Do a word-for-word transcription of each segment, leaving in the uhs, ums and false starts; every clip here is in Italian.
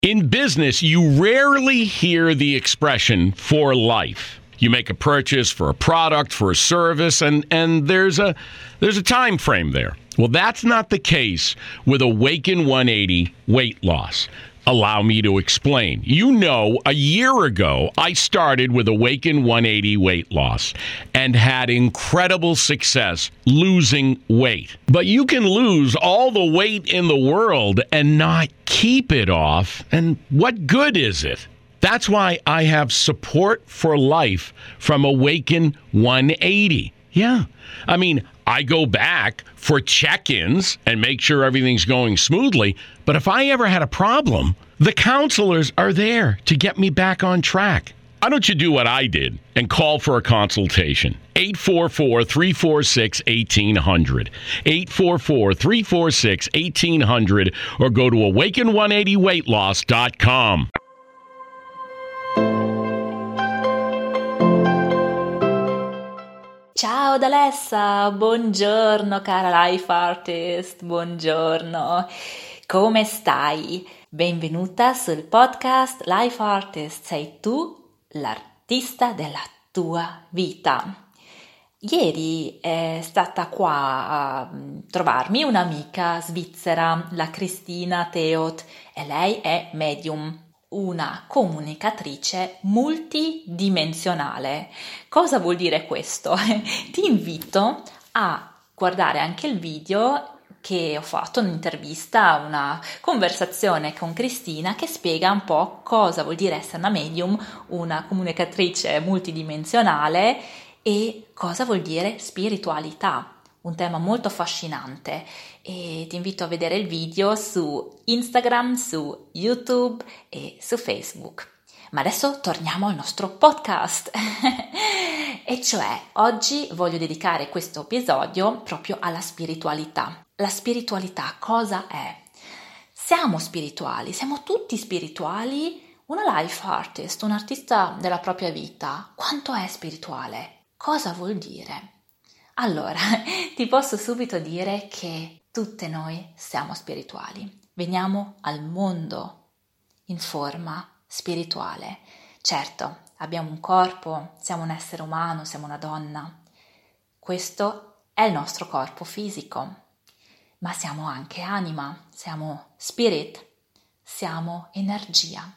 In business, you rarely hear the expression for life. You make a purchase for a product, for a service, and, and there's a there's a time frame there. Well, that's not the case with Awaken one eighty weight loss. Allow me to explain. You know, a year ago, I started with Awaken one eighty weight loss and had incredible success losing weight. But you can lose all the weight in the world and not keep it off. And what good is it? That's why I have support for life from Awaken one eighty. Yeah. I mean, I go back for check-ins and make sure everything's going smoothly. But if I ever had a problem, the counselors are there to get me back on track. Why don't you do what I did and call for a consultation? eight four four, three four six, one eight zero zero. eight four four, three four six, one eight zero zero or go to awaken one eighty weight loss dot com. Ciao da Alessa, buongiorno cara life artist, buongiorno, come stai? Benvenuta sul podcast Life Artist, sei tu l'artista della tua vita. Ieri è stata qua a trovarmi un'amica svizzera, la Cristina Theot, e lei è medium. Una comunicatrice multidimensionale. Cosa vuol dire questo? Ti invito a guardare anche il video che ho fatto, un'intervista, una conversazione con Cristina che spiega un po' cosa vuol dire essere una medium, una comunicatrice multidimensionale e cosa vuol dire spiritualità. Un tema molto affascinante e ti invito a vedere il video su Instagram, su YouTube e su Facebook. Ma adesso torniamo al nostro podcast e cioè oggi voglio dedicare questo episodio proprio alla spiritualità. La spiritualità cosa è? Siamo spirituali, siamo tutti spirituali. Una life artist, un artista della propria vita, quanto è spirituale? Cosa vuol dire? Allora, ti posso subito dire che tutte noi siamo spirituali. Veniamo al mondo in forma spirituale. Certo, abbiamo un corpo, siamo un essere umano, siamo una donna. Questo è il nostro corpo fisico, ma siamo anche anima, siamo spirit, siamo energia.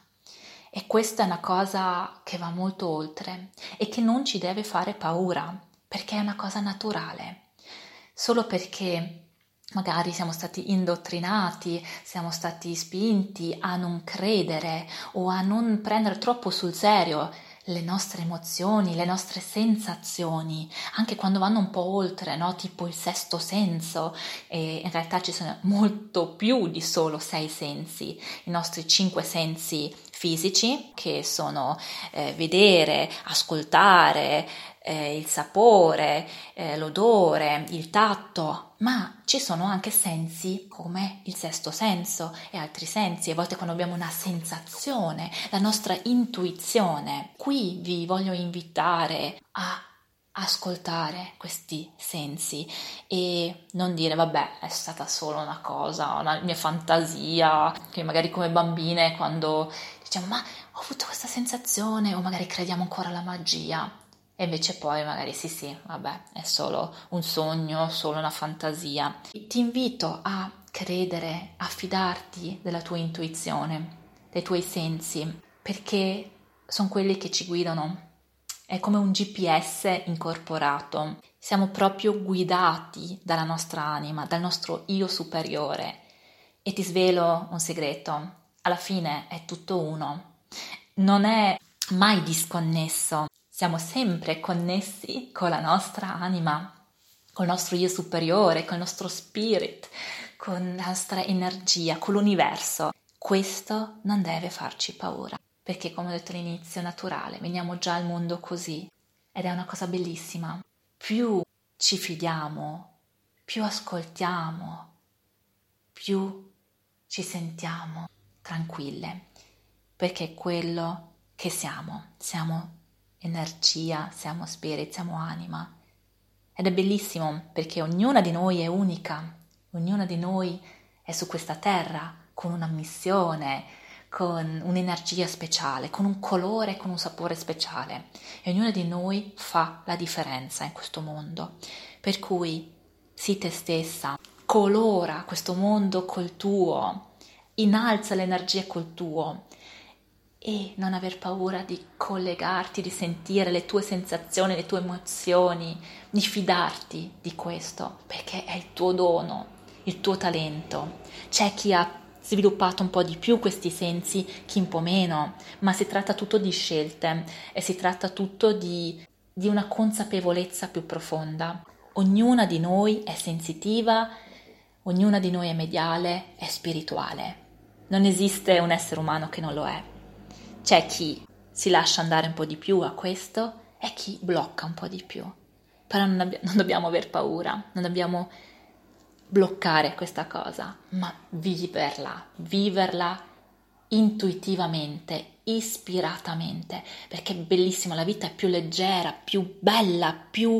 E questa è una cosa che va molto oltre e che non ci deve fare paura, perché è una cosa naturale. Solo perché magari siamo stati indottrinati, siamo stati spinti a non credere o a non prendere troppo sul serio le nostre emozioni, le nostre sensazioni, anche quando vanno un po' oltre, no? Tipo il sesto senso, e in realtà ci sono molto più di solo sei sensi, i nostri cinque sensi fisici, che sono eh, vedere, ascoltare, eh, il sapore, eh, l'odore, il tatto, ma ci sono anche sensi come il sesto senso e altri sensi, a volte quando abbiamo una sensazione, la nostra intuizione. Qui vi voglio invitare a ascoltare questi sensi e non dire vabbè è stata solo una cosa, una mia fantasia, che magari come bambine quando diciamo ma ho avuto questa sensazione o magari crediamo ancora alla magia. E invece poi magari sì sì, vabbè, è solo un sogno, solo una fantasia. Ti invito a credere, a fidarti della tua intuizione, dei tuoi sensi, perché sono quelli che ci guidano. È come un G P S incorporato. Siamo proprio guidati dalla nostra anima, dal nostro io superiore. E ti svelo un segreto, alla fine è tutto uno. Non è mai disconnesso. Siamo sempre connessi con la nostra anima, col nostro io superiore, col nostro spirit, con la nostra energia, con l'universo. Questo non deve farci paura, perché come ho detto all'inizio è naturale, veniamo già al mondo così ed è una cosa bellissima. Più ci fidiamo, più ascoltiamo, più ci sentiamo tranquille, perché è quello che siamo, siamo energia, siamo spirit, siamo anima. Ed è bellissimo perché ognuna di noi è unica, ognuna di noi è su questa terra con una missione, con un'energia speciale, con un colore, con un sapore speciale. E ognuno di noi fa la differenza in questo mondo. Per cui sii te stessa, colora questo mondo col tuo, innalza l'energia col tuo e non aver paura di collegarti, di sentire le tue sensazioni, le tue emozioni, di fidarti di questo, perché è il tuo dono, il tuo talento. C'è chi ha sviluppato un po' di più questi sensi, chi un po' meno, ma si tratta tutto di scelte e si tratta tutto di, di una consapevolezza più profonda. Ognuna di noi è sensitiva, ognuna di noi è mediale, è spirituale. Non esiste un essere umano che non lo è. C'è chi si lascia andare un po' di più a questo e chi blocca un po' di più. Però non, abbi- non dobbiamo aver paura, non dobbiamo bloccare questa cosa, ma viverla, viverla intuitivamente, ispiratamente, perché è bellissimo, la vita è più leggera, più bella, più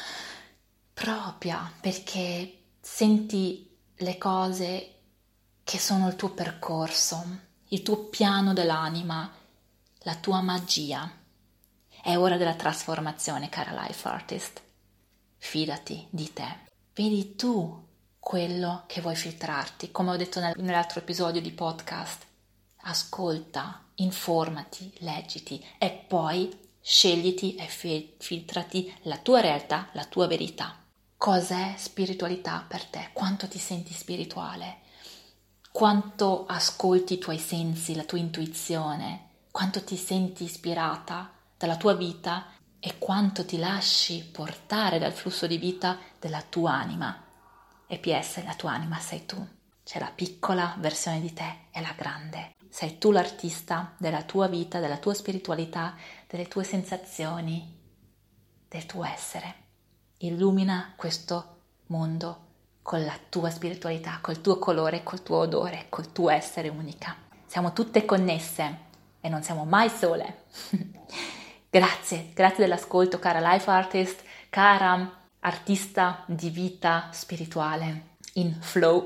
propria, perché senti le cose che sono il tuo percorso, il tuo piano dell'anima, la tua magia. È ora della trasformazione, cara life artist. Fidati di te. Vedi tu quello che vuoi filtrarti, come ho detto nel, nell'altro episodio di podcast. Ascolta, informati, leggiti e poi scegliti e fi- filtrati la tua realtà, la tua verità. Cos'è spiritualità per te? Quanto ti senti spirituale? Quanto ascolti i tuoi sensi, la tua intuizione? Quanto ti senti ispirata dalla tua vita e quanto ti lasci portare dal flusso di vita della tua anima? E P S, la tua anima sei tu. C'è la piccola versione di te e la grande. Sei tu l'artista della tua vita, della tua spiritualità, delle tue sensazioni, del tuo essere. Illumina questo mondo con la tua spiritualità, col tuo colore, col tuo odore, col tuo essere unica. Siamo tutte connesse e non siamo mai sole. Grazie, grazie dell'ascolto, cara life artist, cara artista di vita spirituale in flow.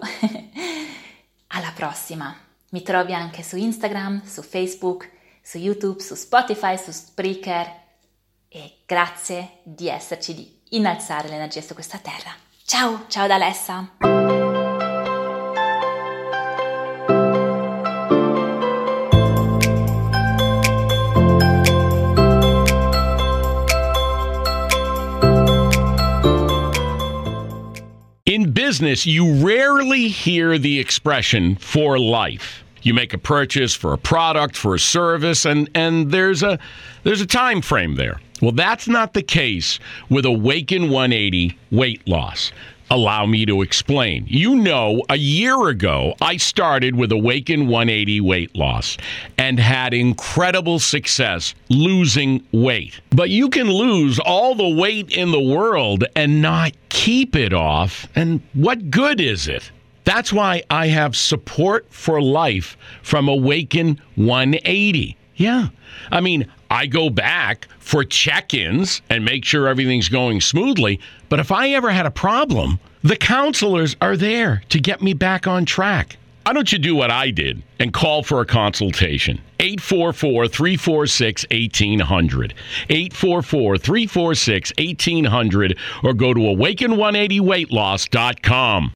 Alla prossima. Mi trovi anche su Instagram, su Facebook, su YouTube, su Spotify, su Spreaker e grazie di esserci, di innalzare l'energia su questa terra. Ciao, ciao da Alessa! In business, you rarely hear the expression for life. You make a purchase for a product, for a service, and, and there's a there's a time frame there. Well, that's not the case with Awaken one eighty weight loss. Allow me to explain. You know, a year ago, I started with Awaken one eighty weight loss and had incredible success losing weight. But you can lose all the weight in the world and not keep it off. And what good is it? That's why I have support for life from Awaken one eighty. Yeah. I mean, I go back for check-ins and make sure everything's going smoothly. But if I ever had a problem, the counselors are there to get me back on track. Why don't you do what I did and call for a consultation? eight four four, three four six, one eight zero zero. eight four four, three four six, one eight zero zero or go to awaken one eighty weight loss dot com.